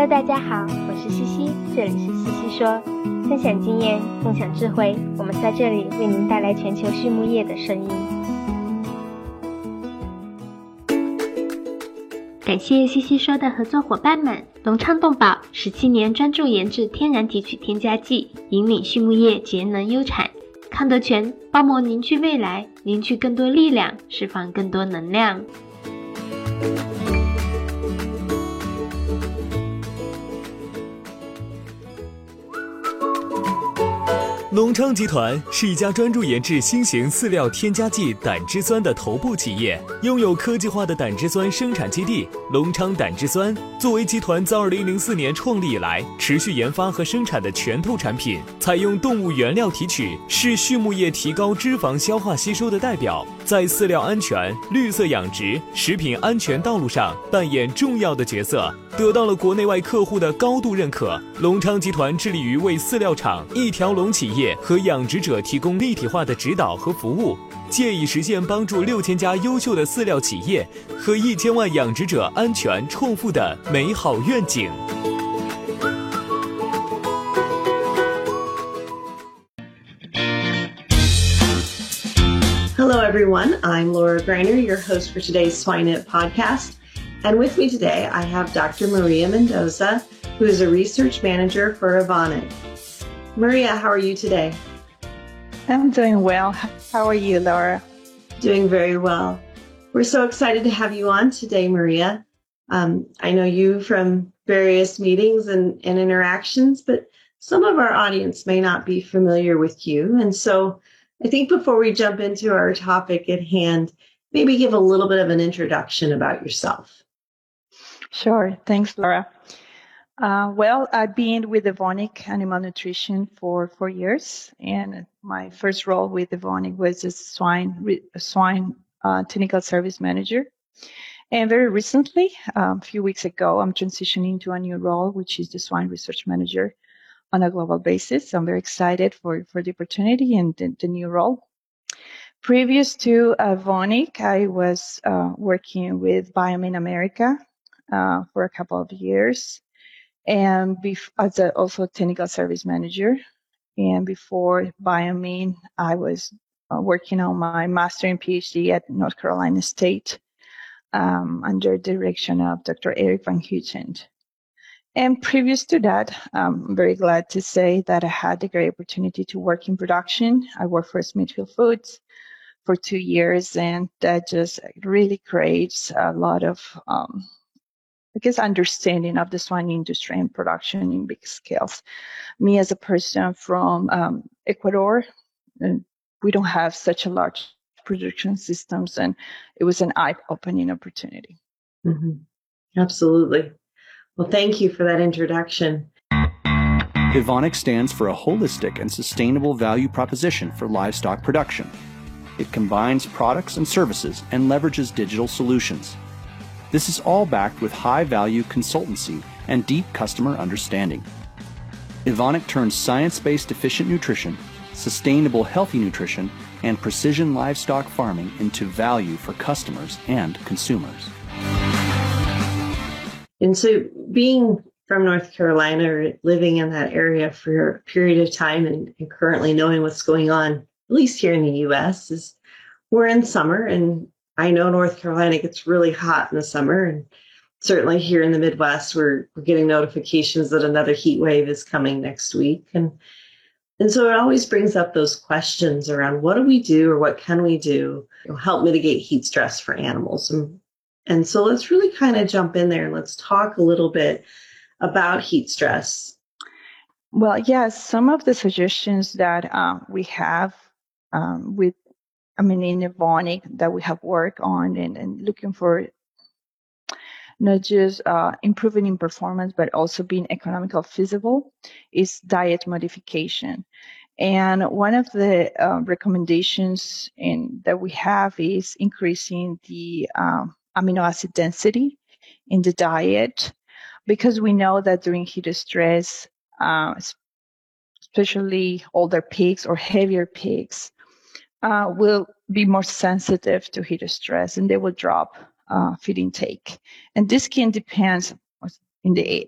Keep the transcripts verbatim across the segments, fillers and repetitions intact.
Hello， 大家好，我是西西，这里是西西说，分享经验，共享智慧，我们在这里为您带来全球畜牧业的声音。感谢西西说的合作伙伴们，隆昌动宝十七年专注研制天然提取添加剂，引领畜牧业节能优产。康德全包膜凝聚未来，凝聚更多力量，释放更多能量。 隆昌集团是一家专注研制新型饲料添加剂胆汁酸的头部企业，拥有科技化的胆汁酸生产基地隆昌胆汁酸。作为集团自二零零四年创立以来持续研发和生产的拳头产品，采用动物原料提取，是畜牧业提高脂肪消化吸收的代表，在饲料安全、绿色养殖、食品安全道路上扮演重要的角色，得到了国内外客户的高度认可。隆昌集团致力于为饲料厂、一条龙企业和养殖者提供立体化的指导和服务，借以实现帮助六千家优秀的饲料企业和一千万养殖者安全创富的美好愿景。 Hello, everyone. I'm Laura Greiner, your host for today's Swine It podcast. And with me today, I have Doctor Maria Mendoza, who is a research manager for Evonik. Maria, how are you today? I'm doing well. How are you, Laura? Doing very well. We're so excited to have you on today, Maria. Um, I know you from various meetings and, and interactions, but some of our audience may not be familiar with you. And so I think before we jump into our topic at hand, maybe give a little bit of an introduction about yourself. Sure. Thanks, Laura. Uh, well, I've been with Evonik Animal Nutrition for four years, and my first role with Evonik was as swine swine uh, technical service manager. And very recently, um, a few weeks ago, I'm transitioning to a new role, which is the swine research manager on a global basis. So I'm very excited for, for the opportunity and the, the new role. Previous to Evonik, I was uh, working with Biomin America uh, for a couple of years. And bef- as a, also technical service manager. And before Biomin, I was uh, working on my master and PhD at North Carolina State um, under the direction of Doctor Eric Van Houten. And previous to that, um, I'm very glad to say that I had the great opportunity to work in production. I worked for Smithfield Foods for two years, and that just really creates a lot of um, I guess, understanding of the swine industry and production in big scales. Me as a person from um, Ecuador, we don't have such a large production systems, and it was an eye-opening opportunity. Mm-hmm. Absolutely. Well, thank you for that introduction. Evonik stands for a holistic and sustainable value proposition for livestock production. It combines products and services and leverages digital solutions. This is all backed with high-value consultancy and deep customer understanding. Evonik turns science-based efficient nutrition, sustainable healthy nutrition, and precision livestock farming into value for customers and consumers. And so being from North Carolina or living in that area for a period of time and, and currently knowing what's going on, at least here in the U S, is we're in summer, and I know North Carolina gets really hot in the summer, and certainly here in the Midwest, we're, we're getting notifications that another heat wave is coming next week. And, and so it always brings up those questions around what do we do or what can we do to help mitigate heat stress for animals? And, and so let's really kind of jump in there and let's talk a little bit about heat stress. Well, yes, some of the suggestions that uh, we have um, with I mean, in Evonik that we have worked on and, and looking for not just uh, improving in performance, but also being economical feasible is diet modification. And one of the uh, recommendations in, that we have is increasing the um, amino acid density in the diet, because we know that during heat stress, uh, especially older pigs or heavier pigs, Uh, will be more sensitive to heat stress, and they will drop uh, feed intake. And this can depend in the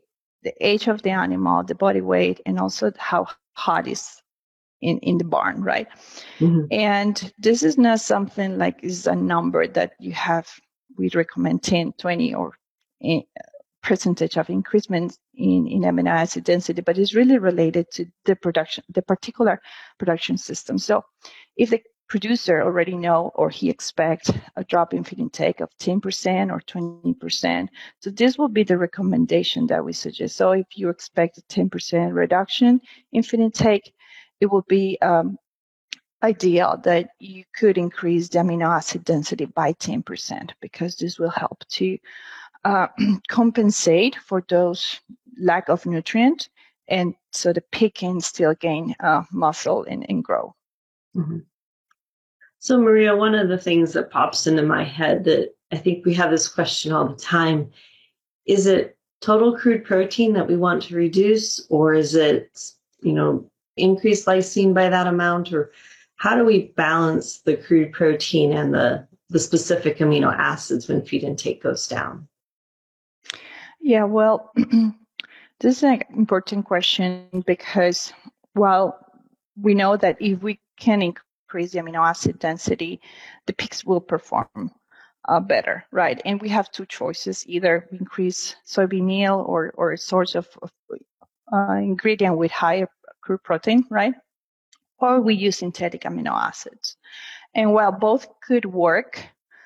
the age of the animal, the body weight, and also how hot is in, in the barn, right? Mm-hmm. And this is not something like is a number that you have, we recommend ten, twenty or a percentage of increasement in, in amino acid density, but it's really related to the production, the particular production system. So if the producer already know or he expects a drop in feed intake of ten percent or twenty percent, so this will be the recommendation that we suggest. So if you expect a ten percent reduction in feed intake, it will be um, ideal that you could increase the amino acid density by ten percent, because this will help to uh, compensate for those lack of nutrient, and so the pig can still gain uh, muscle and, and grow. Mm-hmm. So Maria, one of the things that pops into my head that I think we have this question all the time, is it total crude protein that we want to reduce, or is it, you know, increase lysine by that amount, or how do we balance the crude protein and the, the specific amino acids when feed intake goes down? Yeah, well, this is an important question, because while we know that if we can increase the amino acid density, the pigs will perform uh, better, right? And we have two choices: either increase soybean meal or, or a source of, of uh, ingredient with higher crude protein, right? Or we use synthetic amino acids. And while both could work,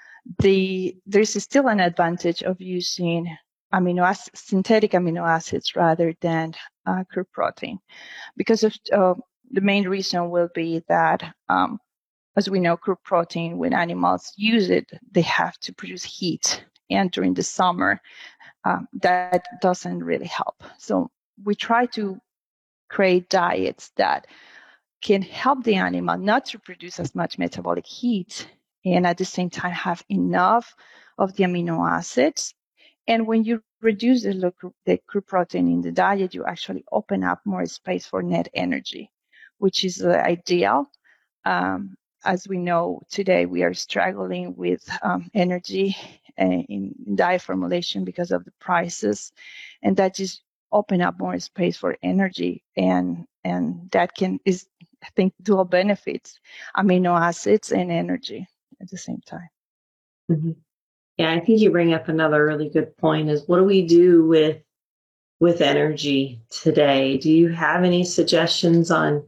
the there's still an advantage of using amino acid, synthetic amino acids rather than uh, crude protein, because of uh, the main reason will be that, um, as we know, crude protein, when animals use it, they have to produce heat, and during the summer, um, that doesn't really help. So we try to create diets that can help the animal not to produce as much metabolic heat, and at the same time have enough of the amino acids. And when you reduce the, the crude protein in the diet, you actually open up more space for net energy, which is uh, ideal. Um, as we know today, we are struggling with um, energy uh, in, in diet formulation because of the prices, and that just open up more space for energy, and and that can is I think dual benefits: amino acids and energy at the same time. Mm-hmm. Yeah, I think you bring up another really good point: is what do we do with with energy today? Do you have any suggestions on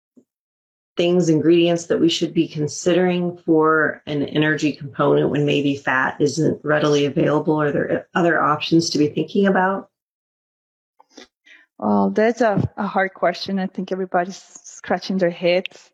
things, ingredients that we should be considering for an energy component when maybe fat isn't readily available? Are there other options to be thinking about? Well, that's a, a hard question. I think everybody's scratching their heads.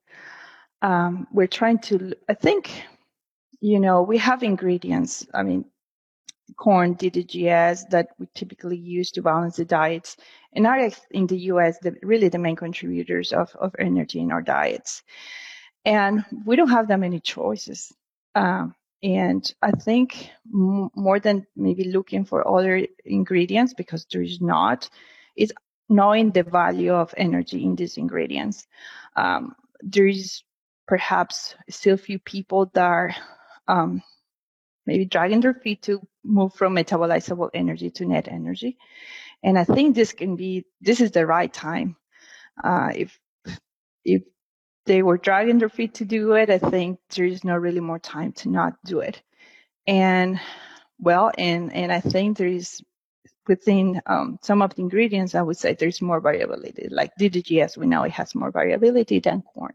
Um, we're trying to, I think, you know, we have ingredients. I mean, corn, D D G S, that we typically use to balance the diets, and are in the U S the, really the main contributors of, of energy in our diets. And we don't have that many choices. Um, and I think m- more than maybe looking for other ingredients, because there is not, is knowing the value of energy in these ingredients. Um, there is perhaps still few people that are um, maybe dragging their feet to move from metabolizable energy to net energy. And I think this can be, this is the right time. Uh, if, if they were dragging their feet to do it, I think there is no really more time to not do it. And well, and, and I think there is within um, some of the ingredients, I would say there's more variability. Like D D G S, we know it has more variability than corn.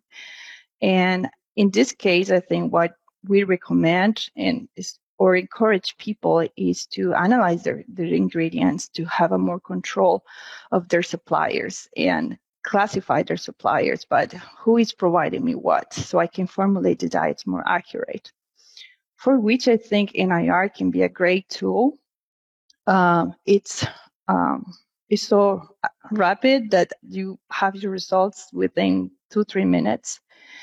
And in this case, I think what we recommend and is, or encourage people is to analyze their, their ingredients, to have a more control of their suppliers and classify their suppliers, but who is providing me what, so I can formulate the diets more accurate. For which I think N I R can be a great tool. Um, it's um, it's so rapid that you have your results within two, three minutes.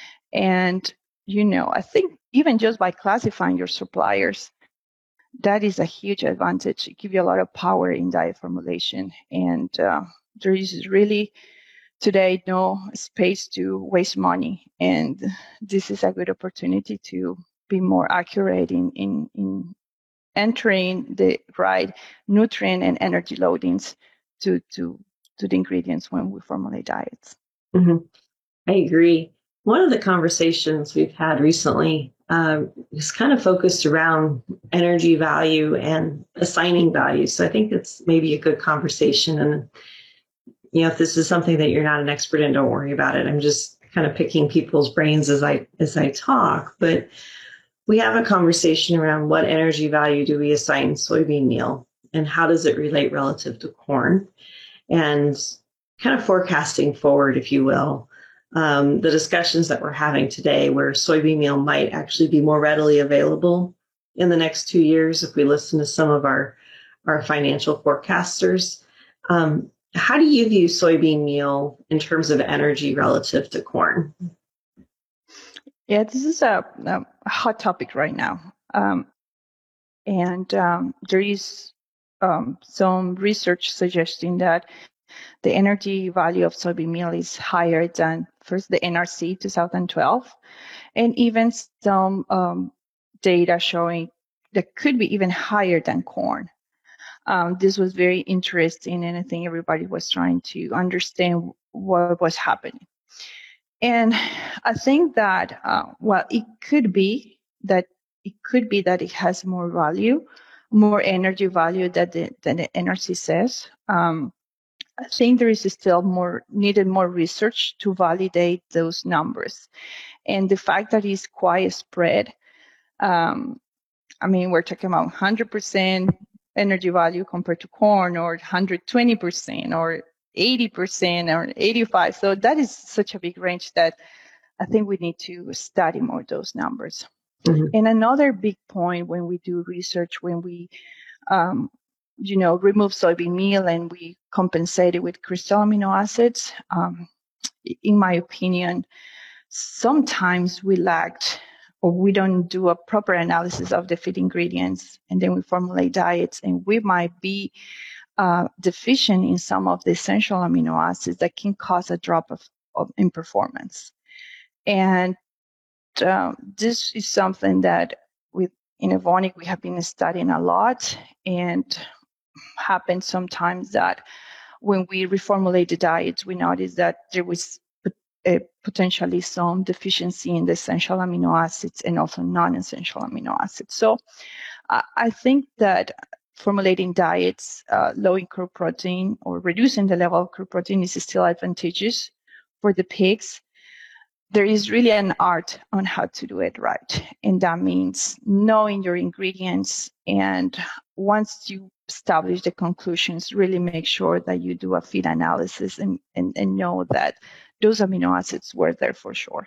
And, you know, I think even just by classifying your suppliers, that is a huge advantage. It gives you a lot of power in diet formulation. And uh, there is really today no space to waste money. And this is a good opportunity to be more accurate in, in, in entering the right nutrient and energy loadings to to to the ingredients when we formulate diets. Mm-hmm. I agree. One of the conversations we've had recently uh, is kind of focused around energy value and assigning value. So I think it's maybe a good conversation. And, you know, if this is something that you're not an expert in, don't worry about it. I'm just kind of picking people's brains as I as I talk. But we have a conversation around what energy value do we assign soybean meal and how does it relate relative to corn, and kind of forecasting forward, if you will. Um, the discussions that we're having today where soybean meal might actually be more readily available in the next two years if we listen to some of our, our financial forecasters. Um, how do you view soybean meal in terms of energy relative to corn? Yeah, this is a, a hot topic right now. Um, and um, there is um, some research suggesting that the energy value of soybean meal is higher than first the N R C twenty twelve, and even some um, data showing that could be even higher than corn. Um, this was very interesting, and I think everybody was trying to understand what was happening. And I think that, uh, well, it could be that it could be that it has more value, more energy value than the, than the N R C says. Um, I think there is still more needed more research to validate those numbers. And the fact that it's quite spread, um, I mean, we're talking about one hundred percent energy value compared to corn, or one hundred twenty percent, or eighty percent, or eighty-five. So that is such a big range that I think we need to study more those numbers. Mm-hmm. And another big point when we do research, when we um, you know, remove soybean meal and we compensate it with crystal amino acids. Um, in my opinion, sometimes we lacked or we don't do a proper analysis of the feed ingredients, and then we formulate diets, and we might be uh, deficient in some of the essential amino acids that can cause a drop of, of in performance. And um, this is something that with in Evonik we have been studying a lot, and happens sometimes that when we reformulate the diets, we notice that there was a, potentially some deficiency in the essential amino acids and also non-essential amino acids. So uh, I think that formulating diets uh, low in crude protein or reducing the level of crude protein is still advantageous for the pigs. There is really an art on how to do it right. And that means knowing your ingredients, and once you establish the conclusions, really make sure that you do a feed analysis and, and, and know that those amino acids were there for sure.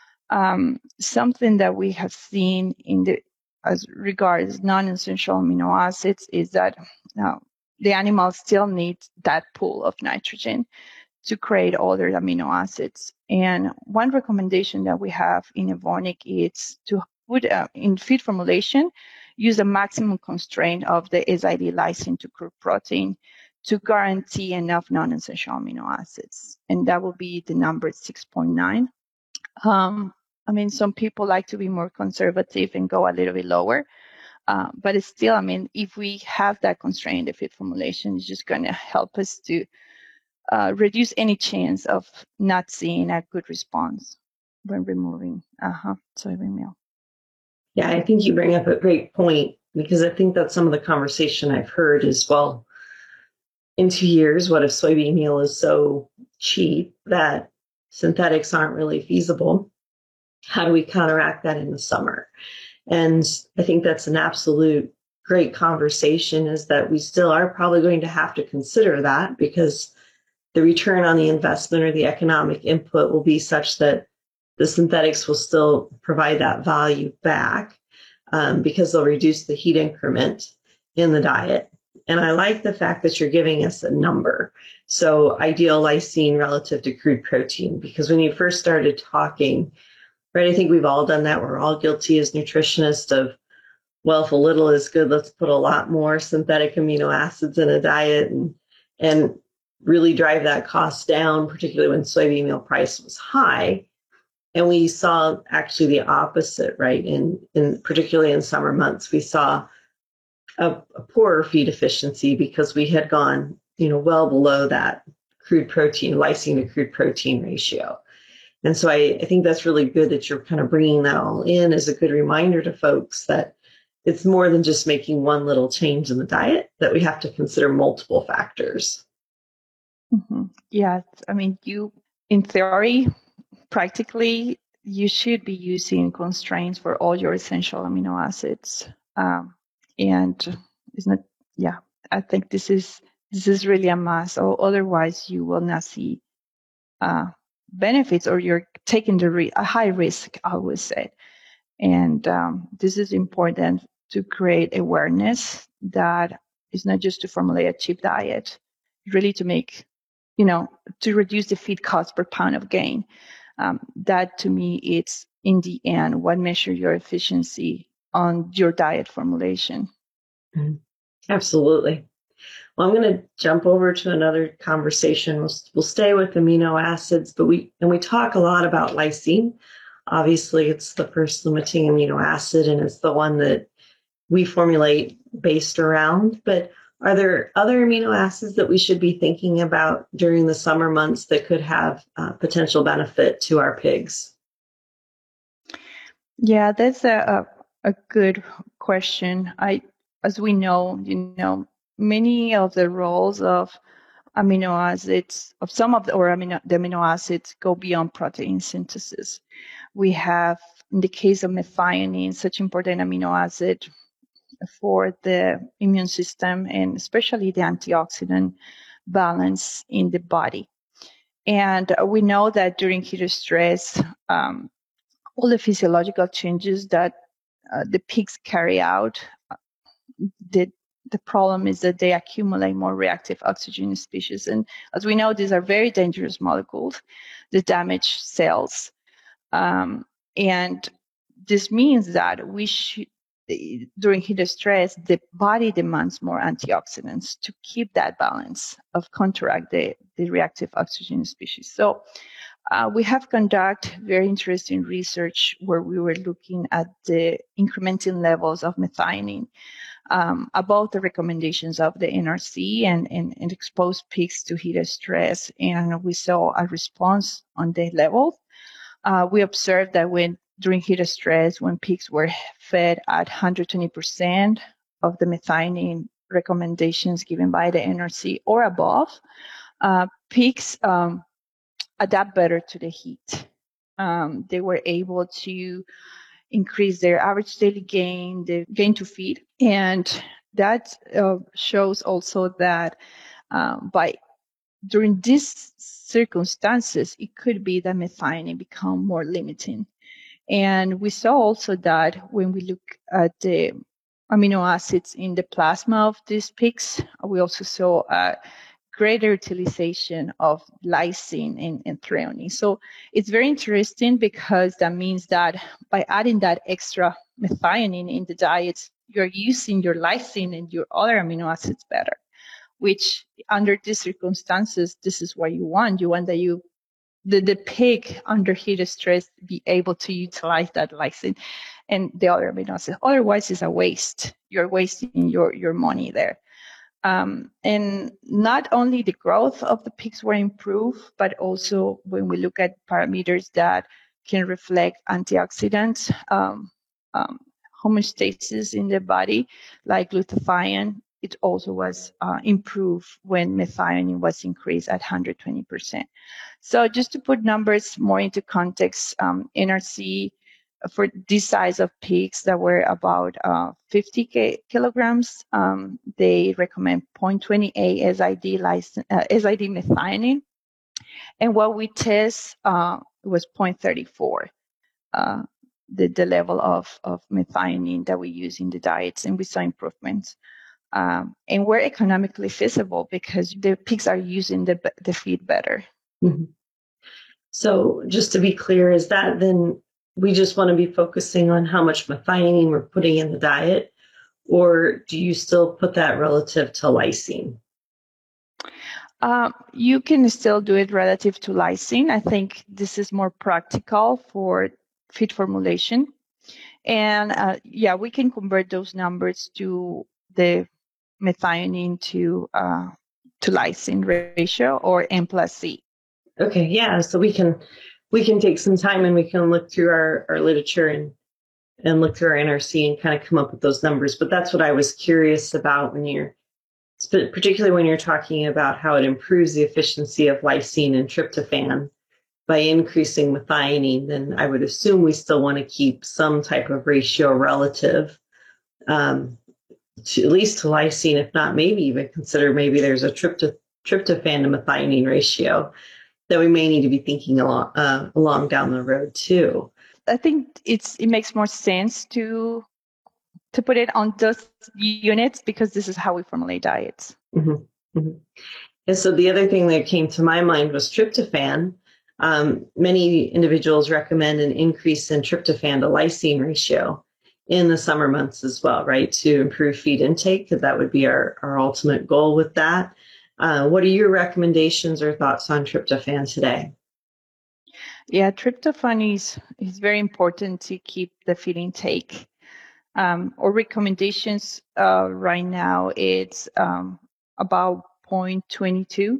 Um, something that we have seen in the as regards non-essential amino acids is that uh, the animals still need that pool of nitrogen to create other amino acids. And one recommendation that we have in Evonik is to put uh, in feed formulation, use a maximum constraint of the S I D lysine to crude protein to guarantee enough non-essential amino acids. And that will be the number six point nine. Um, I mean, some people like to be more conservative and go a little bit lower. Uh, but it's still, I mean, if we have that constraint in the feed formulation, it's just going to help us to Uh, reduce any chance of not seeing a good response when removing uh-huh, soybean meal. Yeah, I think you bring up a great point, because I think that some of the conversation I've heard is, well, in two years, what if soybean meal is so cheap that synthetics aren't really feasible? How do we counteract that in the summer? And I think that's an absolute great conversation, is that we still are probably going to have to consider that, because the return on the investment or the economic input will be such that the synthetics will still provide that value back um, because they'll reduce the heat increment in the diet. And I like the fact that you're giving us a number. So ideal lysine relative to crude protein, because when you first started talking, right, I think we've all done that. We're all guilty as nutritionists of, well, if a little is good, let's put a lot more synthetic amino acids in a diet and, and really drive that cost down, particularly when soybean meal price was high. And we saw actually the opposite, right? In, in particularly in summer months, we saw a, a poorer feed efficiency because we had gone you know, well below that crude protein, lysine to crude protein ratio. And so I, I think that's really good that you're kind of bringing that all in as a good reminder to folks that it's more than just making one little change in the diet, that we have to consider multiple factors. Mm-hmm. Yeah, I mean, you, in theory, practically, you should be using constraints for all your essential amino acids. Um, and it's not, yeah, I think this is this is really a must. Or otherwise, you will not see uh, benefits, or you're taking the re- a high risk, I would say. And um, this is important to create awareness that it's not just to formulate a cheap diet, really to make, you know, to reduce the feed cost per pound of gain. Um, that to me, it's in the end what measures your efficiency on your diet formulation. Mm-hmm. Absolutely. Well, I'm going to jump over to another conversation. We'll, we'll stay with amino acids, but we and we talk a lot about lysine. Obviously, it's the first limiting amino acid, and it's the one that we formulate based around. But are there other amino acids that we should be thinking about during the summer months that could have uh, potential benefit to our pigs? Yeah, that's a, a, a good question. I, as we know, you know, many of the roles of amino acids, of some of the, or amino, the amino acids go beyond protein synthesis. We have, in the case of methionine, such important amino acid for the immune system and especially the antioxidant balance in the body. And we know that during heat stress, um, all the physiological changes that uh, the pigs carry out, the, the problem is that they accumulate more reactive oxygen species. And as we know, these are very dangerous molecules that damage cells. Um, and this means that we should, during heat stress, the body demands more antioxidants to keep that balance of counteract the, the reactive oxygen species. So uh, we have conducted very interesting research where we were looking at the incremental levels of methionine um, above the recommendations of the N R C and, and, and exposed pigs to heat stress. And we saw a response on the level. Uh, we observed that when during heat stress, when pigs were fed at one hundred twenty percent of the methionine recommendations given by the N R C or above, uh, pigs um, adapt better to the heat. Um, they were able to increase their average daily gain, the gain to feed. And that uh, shows also that uh, by during these circumstances, it could be that methionine become more limiting. And we saw also that when we look at the amino acids in the plasma of these pigs, we also saw a greater utilization of lysine and, and threonine. So it's very interesting because that means that by adding that extra methionine in the diet, you're using your lysine and your other amino acids better, which under these circumstances, this is what you want. You want that you The, the pig under heat stress be able to utilize that lysine and the other amino acids. Otherwise, it's a waste. You're wasting your, your money there. Um, and not only the growth of the pigs were improved, but also when we look at parameters that can reflect antioxidants, um, um, homeostasis in the body, like glutathione, it also was uh, improved when methionine was increased at one hundred twenty percent. So just to put numbers more into context, um, N R C for this size of pigs that were about uh, fifty kilograms, um, they recommend zero point two eight S I D, license, uh, S I D methionine. And what we test uh, was zero point three four, uh, the, the level of, of methionine that we use in the diets, and we saw improvements. Um, and we're economically feasible because the pigs are using the, the feed better. Mm-hmm. So just to be clear, is that then we just want to be focusing on how much methionine we're putting in the diet, or do you still put that relative to lysine? Uh, you can still do it relative to lysine. I think this is more practical for feed formulation. And uh, yeah, we can convert those numbers to the methionine to uh, to lysine ratio, or N plus C. Okay, yeah. So we can we can take some time and we can look through our, our literature and and look through our N R C and kind of come up with those numbers. But that's what I was curious about when you're, particularly when you're talking about how it improves the efficiency of lysine and tryptophan by increasing methionine. Then I would assume we still want to keep some type of ratio relative um, to at least to lysine, if not maybe even consider maybe there's a trypto, tryptophan to methionine ratio that we may need to be thinking along uh, along down the road too. I think it's it makes more sense to to put it on those units because this is how we formulate diets. Mm-hmm. Mm-hmm. And so the other thing that came to my mind was tryptophan. Um, many individuals recommend an increase in tryptophan to lysine ratio in the summer months as well, right, to improve feed intake, because that would be our, our ultimate goal with that. Uh, what are your recommendations or thoughts on tryptophan today? Yeah, tryptophan is, is very important to keep the feed intake. Um, our recommendations uh, right now, it's um, about zero point two two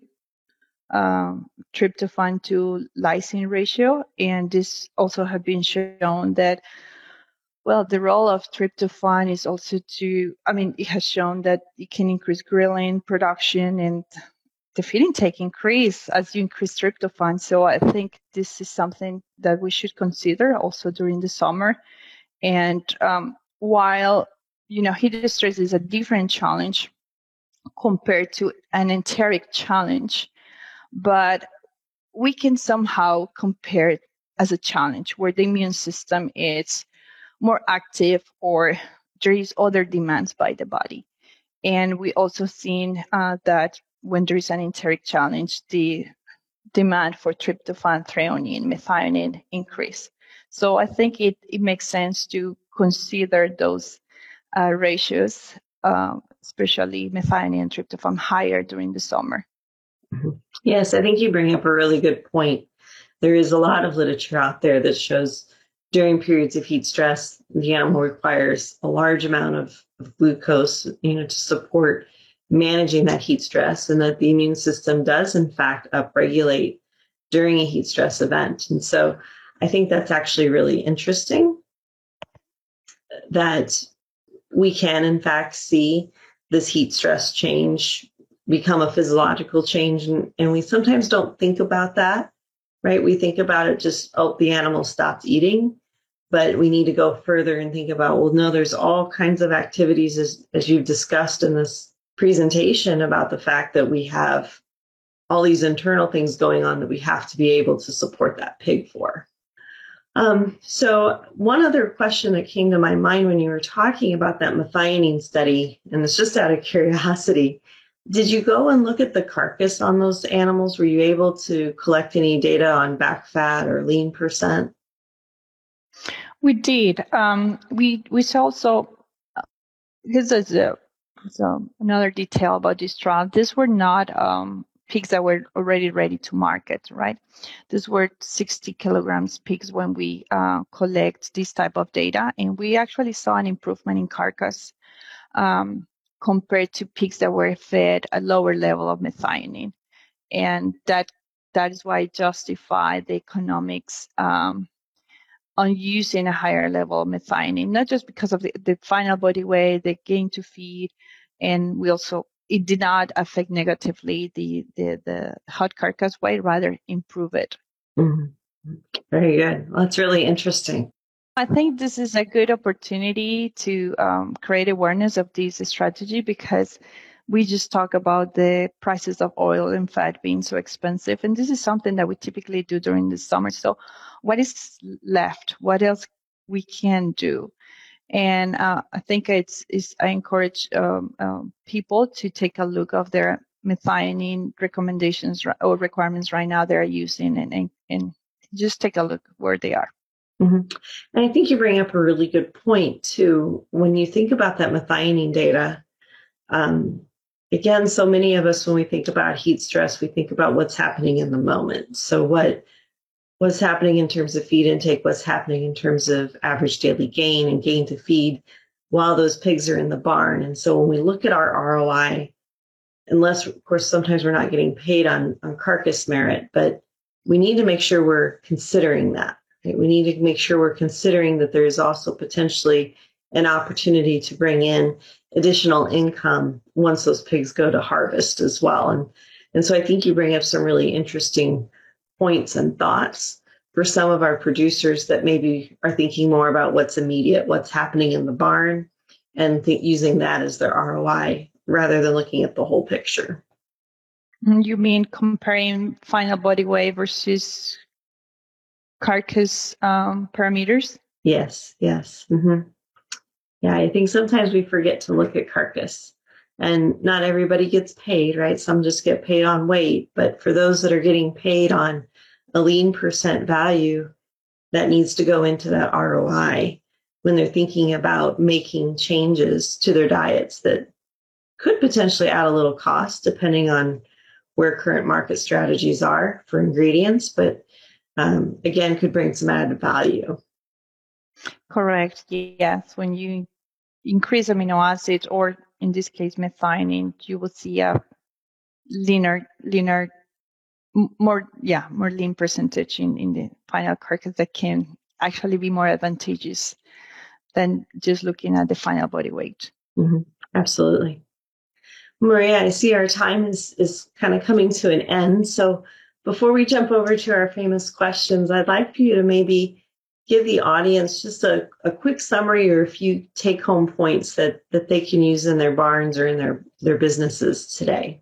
um, tryptophan to lysine ratio. And this also has been shown that, well, the role of tryptophan is also to, I mean, it has shown that it can increase ghrelin production and the feed intake increase as you increase tryptophan. So I think this is something that we should consider also during the summer. And um, while, you know, heat stress is a different challenge compared to an enteric challenge, but we can somehow compare it as a challenge where the immune system is more active or there is other demands by the body. And we also seen uh, that when there is an enteric challenge, the demand for tryptophan, threonine, methionine increase. So I think it, it makes sense to consider those uh, ratios, uh, especially methionine and tryptophan, higher during the summer. Yes, I think you bring up a really good point. There is a lot of literature out there that shows during periods of heat stress, the animal requires a large amount of, of glucose, you know, to support managing that heat stress, and that the immune system does, in fact, upregulate during a heat stress event. And so I think that's actually really interesting that we can, in fact, see this heat stress change become a physiological change. And, and we sometimes don't think about that, right? We think about it just, oh, the animal stopped eating. But we need to go further and think about, well, no, there's all kinds of activities, as, as you've discussed in this presentation, about the fact that we have all these internal things going on that we have to be able to support that pig for. Um, so one other question that came to my mind when you were talking about that methionine study, and it's just out of curiosity, did you go and look at the carcass on those animals? Were you able to collect any data on back fat or lean percent? We did. Um, we we saw also, this is a, so another detail about this trial. These were not um, pigs that were already ready to market, right? These were sixty kilograms pigs when we uh, collect this type of data. And we actually saw an improvement in carcass um, compared to pigs that were fed a lower level of methionine. And that that is why it justified the economics um, on using a higher level of methionine, not just because of the, the final body weight, the gain to feed, and we also, it did not affect negatively the, the, the hot carcass weight, rather improve it. Mm-hmm. Very good. Well, that's really interesting. I think this is a good opportunity to um, create awareness of this strategy, because we just talk about the prices of oil and fat being so expensive. And this is something that we typically do during the summer. So what is left? What else we can do? And uh, I think it's, it's I encourage um, um, people to take a look of their methionine recommendations or requirements right now they're using, and, and, and just take a look where they are. Mm-hmm. And I think you bring up a really good point too. When you think about that methionine data, um, again, so many of us, when we think about heat stress, we think about what's happening in the moment. So what what's happening in terms of feed intake, what's happening in terms of average daily gain and gain to feed while those pigs are in the barn. And so when we look at our R O I unless, of course, sometimes we're not getting paid on, on carcass merit, but we need to make sure we're considering that. Right? We need to make sure we're considering that there is also potentially an opportunity to bring in additional income once those pigs go to harvest as well. And, and so I think you bring up some really interesting points and thoughts for some of our producers that maybe are thinking more about what's immediate, what's happening in the barn, and th- using that as their R O I rather than looking at the whole picture. You mean comparing final body weight versus carcass um, parameters? Yes, yes. Mm-hmm. Yeah, I think sometimes we forget to look at carcass, and not everybody gets paid, right? Some just get paid on weight, but for those that are getting paid on a lean percent value, that needs to go into that R O I when they're thinking about making changes to their diets that could potentially add a little cost depending on where current market strategies are for ingredients, but um, again, could bring some added value. Correct. Yes. When you increase amino acids, or in this case, methionine, you will see a leaner, leaner, more, yeah, more lean percentage in, in the final carcass that can actually be more advantageous than just looking at the final body weight. Mm-hmm. Absolutely. Maria, I see our time is, is kind of coming to an end. So before we jump over to our famous questions, I'd like for you to maybe give the audience just a, a quick summary or a few take-home points that, that they can use in their barns or in their, their businesses today.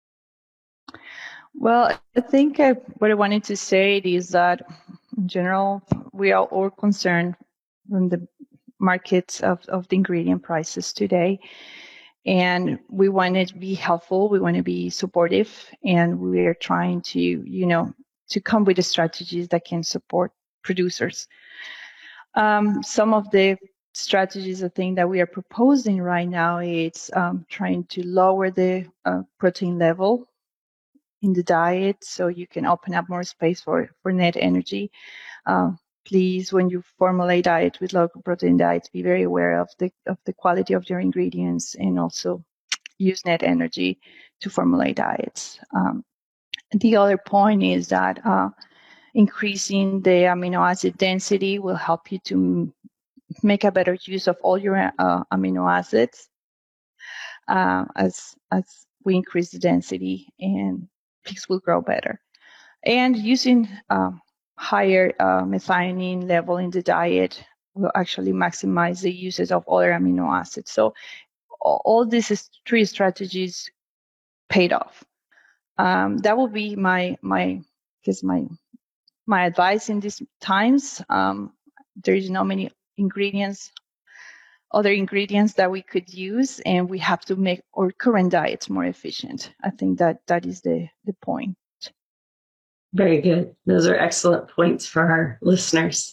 Well, I think I, what I wanted to say is that in general, we are all concerned from the markets of, of the ingredient prices today. And we want to be helpful. We want to be supportive. And we are trying to, you know, to come with the strategies that can support producers. Um, some of the strategies, I think, that we are proposing right now is um, trying to lower the uh, protein level in the diet so you can open up more space for, for net energy. Uh, please, when you formulate diet with low protein diets, be very aware of the of the quality of your ingredients and also use net energy to formulate diets. Um, the other point is that uh, increasing the amino acid density will help you to m- make a better use of all your uh, amino acids uh, as as we increase the density, and pigs will grow better. And using uh, higher uh, methionine level in the diet will actually maximize the usage of other amino acids. So all these three strategies paid off. Um, that will be my my guess my my advice in these times. Um, there is no many ingredients, other ingredients that we could use, and we have to make our current diets more efficient. I think that that is the the point. Very good. Those are excellent points for our listeners.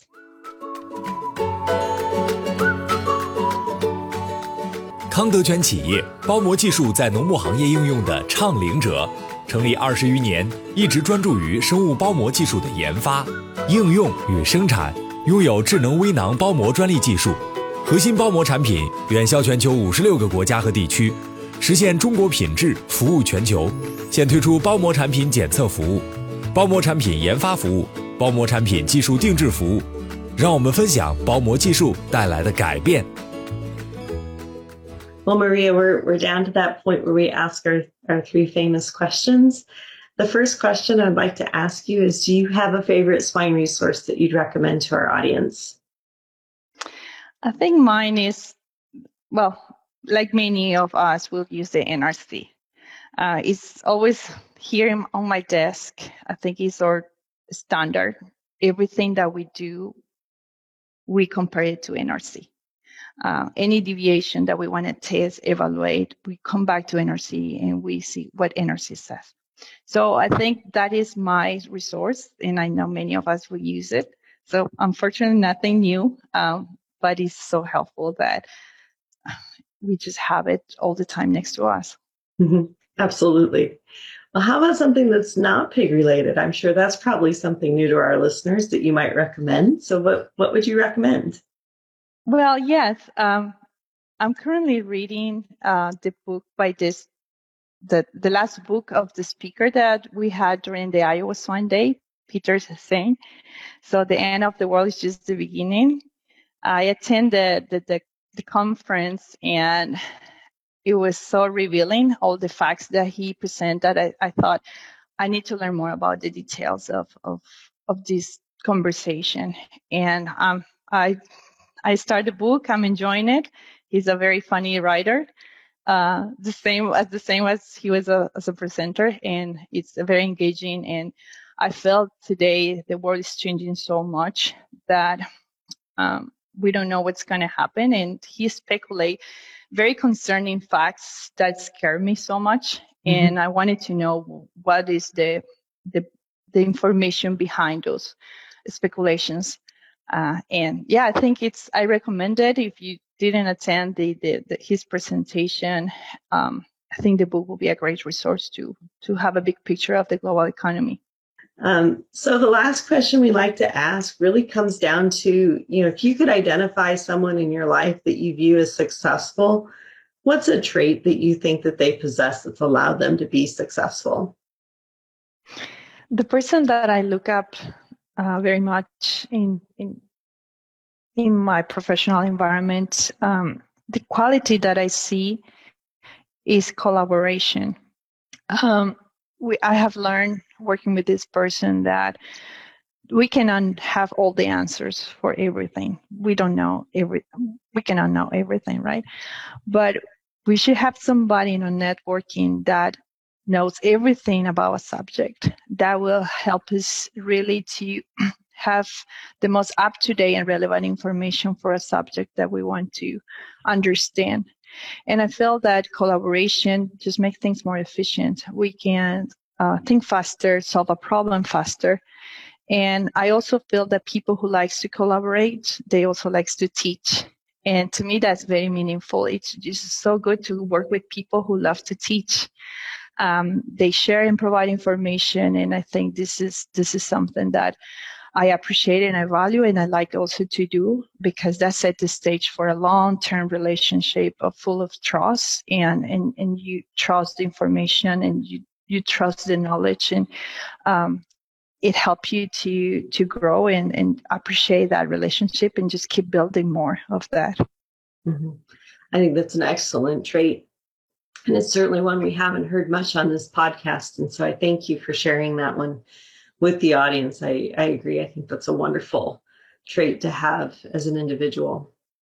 康德全企业包膜技术在农牧行业应用的倡领者，成立二十余年，一直专注于生物包膜技术的研发、应用与生产，拥有智能微囊包膜专利技术，核心包膜产品远销全球五十六个国家和地区，实现中国品质服务全球。现推出包膜产品检测服务、包膜产品研发服务、包膜产品技术定制服务，让我们分享包膜技术带来的改变。 Well, Maria, we're we're down to that point where we ask our, our three famous questions. The first question I'd like to ask you is, do you have a favorite swine resource that you'd recommend to our audience? I think mine is, well, like many of us, will use the N R C. Uh, it's always here on my desk. I think it's our standard. Everything that we do, we compare it to N R C. Uh, any deviation that we want to test, evaluate, we come back to N R C and we see what N R C says. So I think that is my resource, and I know many of us will use it. So unfortunately, nothing new, um, but it's so helpful that we just have it all the time next to us. Mm-hmm. Absolutely. Well, how about something that's not pig related? I'm sure that's probably something new to our listeners that you might recommend. So what, what would you recommend? Well, yes. Um, I'm currently reading uh, the book by this the, the last book of the speaker that we had during the Iowa Swine Day, Peter saying. So the end of the world is just the beginning. I attended the, the, the conference, and it was so revealing, all the facts that he presented. I, I thought I need to learn more about the details of, of, of this conversation. And um, I I started the book. I'm enjoying it. He's a very funny writer, uh, the same as the same as he was a, as a presenter, and it's very engaging. And I felt today the world is changing so much that um, we don't know what's going to happen. And he speculate very concerning facts that scare me so much. Mm-hmm. And I wanted to know what is the the the information behind those speculations. Uh, and yeah, I think it's, I recommend it. If you didn't attend the, the, the his presentation, um, I think the book will be a great resource to, to have a big picture of the global economy. Um, so the last question we like to ask really comes down to, you know, if you could identify someone in your life that you view as successful, what's a trait that you think that they possess that's allowed them to be successful? The person that I look up Uh, very much in in in my professional environment, um, the quality that I see is collaboration. Um, we, I have learned working with this person that we cannot have all the answers for everything. We don't know every. We cannot know everything, right? But we should have somebody in our networking that knows everything about a subject. That will help us really to have the most up-to-date and relevant information for a subject that we want to understand. And I feel that collaboration just makes things more efficient. We can uh, think faster, solve a problem faster. And I also feel that people who likes to collaborate, they also likes to teach. And to me, that's very meaningful. It's just so good to work with people who love to teach. Um, they share and provide information, and I think this is this is something that I appreciate and I value, and I like also to do, because that set the stage for a long-term relationship of full of trust, and and and you trust the information, and you you trust the knowledge, and um, it helps you to to grow and and appreciate that relationship and just keep building more of that. Mm-hmm. I think that's an excellent trait. And it's certainly one we haven't heard much on this podcast. And so I thank you for sharing that one with the audience. I, I agree. I think that's a wonderful trait to have as an individual.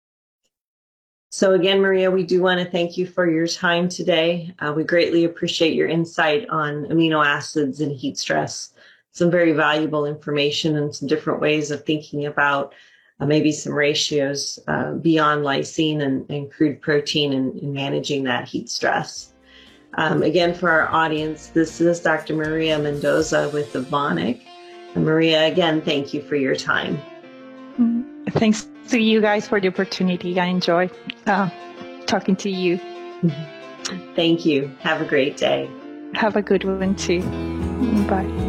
So again, Maria, we do want to thank you for your time today. Uh, we greatly appreciate your insight on amino acids and heat stress. Some very valuable information and some different ways of thinking about Uh, maybe some ratios uh, beyond lysine and, and crude protein and, and managing that heat stress. Um, again, for our audience, this is Doctor Maria Mendoza with Evonik. And Maria, again, thank you for your time. Thanks to you guys for the opportunity. I enjoy uh, talking to you. Thank you. Have a great day. Have a good one too. Bye.